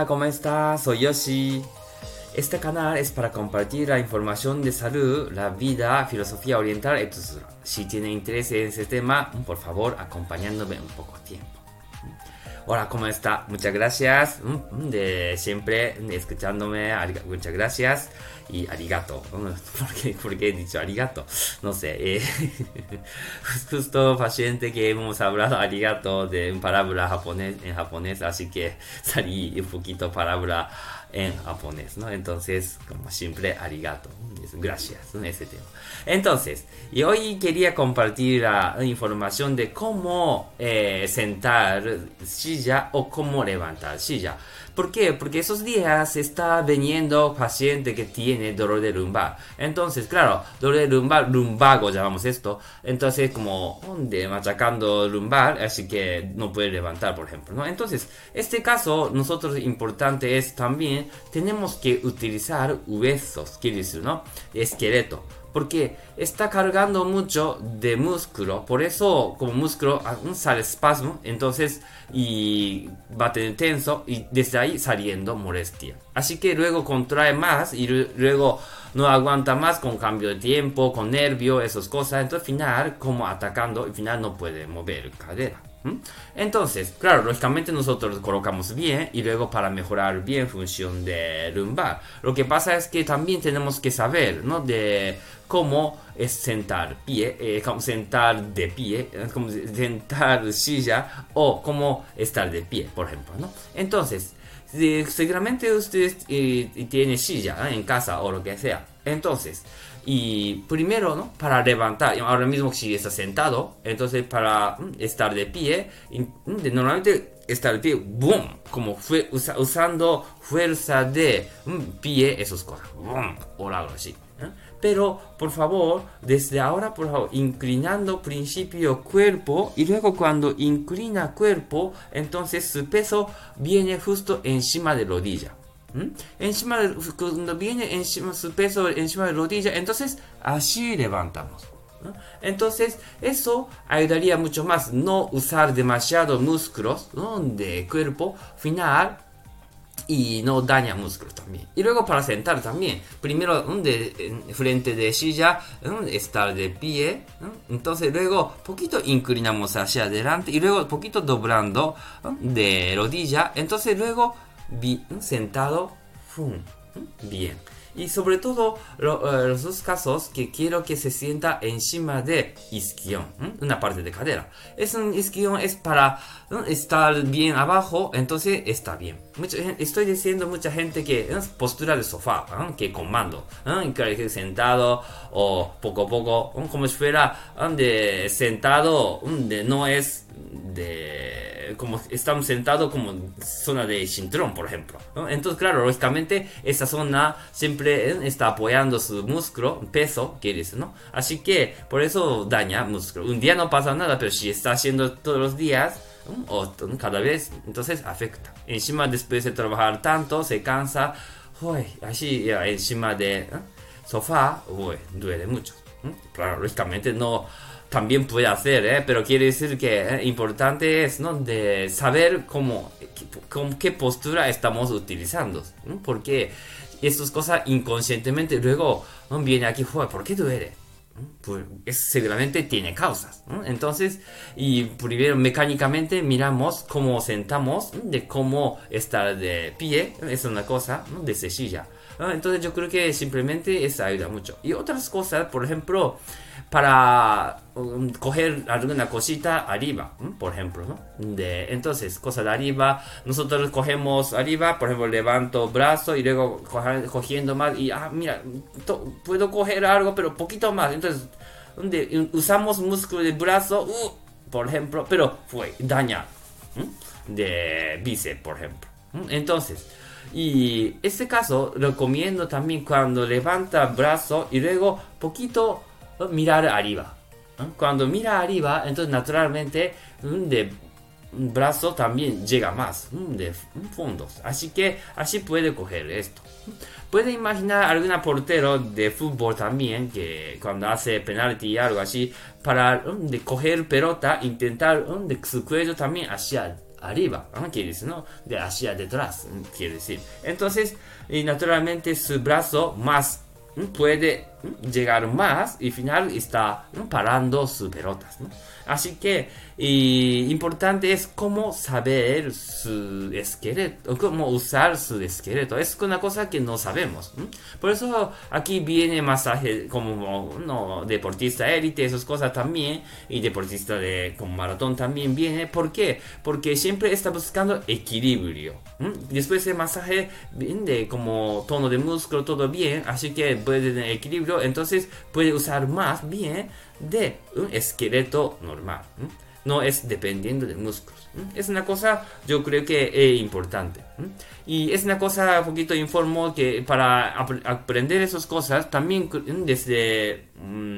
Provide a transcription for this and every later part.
Hola, ¿cómo estás? Soy Yoshi. Este canal es para compartir la información de salud, la vida, filosofía oriental, etc. Si tiene interés en ese tema, por favor, acompañándome un poco tiempo. Hola, ¿cómo está? Muchas gracias de siempre escuchándome. Muchas gracias y arigato. ¿Por qué he dicho arigato? No sé. Justo paciente que hemos hablado arigato de una palabra en japonés, así que salí un poquito palabra en japonés, ¿no? Entonces, como siempre, arigato. Gracias, ¿no? Ese tema. Entonces, y hoy quería compartir la información de cómo sentar silla o cómo levantar silla. ¿Por qué? Porque esos días está viniendo paciente que tiene dolor de lumbar. Entonces, claro, dolor de lumbar, lumbago llamamos esto. Entonces, como machacando lumbar, así que no puede levantar, por ejemplo, ¿no? Entonces, este caso, nosotros importante es también, tenemos que utilizar huesos, quiere decir, ¿no? Esqueleto. Porque está cargando mucho de músculo, por eso como músculo sale espasmo, entonces y va a tener tenso y desde ahí saliendo molestia. Así que luego contrae más y luego no aguanta más con cambio de tiempo, con nervio, esas cosas. Entonces al final como atacando, al final no puede mover cadera. Entonces, claro, lógicamente nosotros colocamos bien y luego para mejorar bien función de lumbar. Lo que pasa es que también tenemos que saber, ¿no? De cómo es sentar pie, cómo sentar de pie, cómo sentar silla o cómo estar de pie, por ejemplo, ¿no? Entonces, seguramente usted tiene silla en casa o lo que sea. Entonces, y primero, ¿no? Para levantar, ahora mismo si está sentado, entonces para estar de pie, normalmente estar de pie, boom, como usando fuerza de pie, esas cosas, boom, o algo así. Pero, por favor, desde ahora, por favor, inclinando principio cuerpo y luego cuando inclina cuerpo, entonces su peso viene justo encima de rodilla. Cuando viene encima, su peso encima de rodilla, entonces así levantamos. Entonces eso ayudaría mucho más, no usar demasiados músculos, ¿no? De cuerpo final y no daña músculos también. Y luego para sentar también, primero frente de silla, estar de pie, entonces luego poquito inclinamos hacia adelante y luego poquito doblando de rodilla, entonces luego sentado, bien. Y sobre todo los dos casos que quiero que se sienta encima de isquion, una parte de cadera. Un isquion es para estar bien abajo, entonces está bien. Estoy diciendo mucha gente que es postura de sofá, que comando, que sentado o poco a poco, como si fuera de sentado, no es de como estamos sentados como zona de cinturón, por ejemplo, ¿no? Entonces, claro, lógicamente esa zona siempre está apoyando su músculo, peso, quiere decir, ¿no? Así que por eso daña músculo. Un día no pasa nada, pero si está haciendo todos los días o cada vez, entonces afecta. Encima después de trabajar tanto, se cansa, así encima de sofá, duele mucho. Claro, lógicamente no también puede hacer, pero quiere decir que importante es, ¿no? De saber qué postura estamos utilizando, ¿no? Porque estas cosas inconscientemente luego viene aquí, ¿por qué duele? Pues seguramente tiene causas, ¿no? Entonces, y primero mecánicamente miramos cómo sentamos, de cómo estar de pie, es una cosa, ¿no? De silla. Entonces yo creo que simplemente eso ayuda mucho. Y otras cosas, por ejemplo, para coger alguna cosita arriba, por ejemplo, ¿no? Entonces, cosa de arriba, nosotros cogemos arriba, por ejemplo, levanto brazo y luego cogiendo más y, mira, puedo coger algo, pero poquito más. Entonces, usamos músculo del brazo, por ejemplo, pero daña de bíceps, por ejemplo. Entonces, y este caso recomiendo también cuando levanta brazo y luego poquito mirar arriba. Cuando mira arriba, entonces naturalmente de brazo también llega más de fondos. Así que así puede coger esto. Puede imaginar algún portero de fútbol también que cuando hace penalti y algo así, para de coger pelota, intentar de su cuello también hacia arriba, quiere decir, ¿no? De hacia detrás, quiere decir. Entonces, naturalmente su brazo más puede llegar más y al final está parando sus pelotas, ¿no? Así que importante es cómo saber su esqueleto, cómo usar su esqueleto. Es una cosa que no sabemos. Por eso aquí viene masaje como no, deportista élite, esas cosas también, y deportista de como maratón también viene. ¿Por qué? Porque siempre está buscando equilibrio. Después el masaje de como tono de músculo, todo bien, así que puede tener equilibrio, entonces puede usar más bien de un esqueleto normal. No es dependiendo de músculos. Es una cosa, yo creo que es importante. Y es una cosa, un poquito informo que para aprender esas cosas, también desde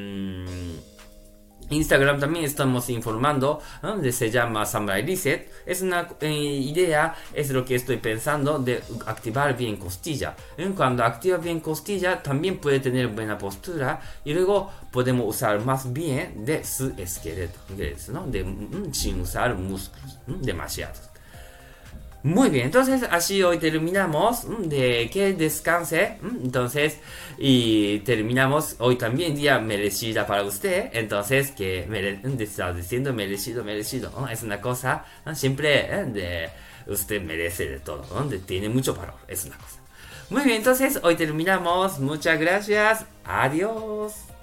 Instagram también estamos informando, ¿no? Se llama Samurai Reset. Es una idea, es lo que estoy pensando, de activar bien costilla. Cuando activa bien costilla, también puede tener buena postura y luego podemos usar más bien de su esqueleto, ¿no? Sin usar músculos demasiados. Muy bien, entonces así hoy terminamos de que descanse. Entonces, y terminamos hoy también día merecida para usted. Entonces, que está diciendo merecido, ¿no? Es una cosa, ¿no? Siempre de usted merece de todo, ¿no? Tiene mucho valor, es una cosa. Muy bien, entonces hoy terminamos. Muchas gracias. Adiós.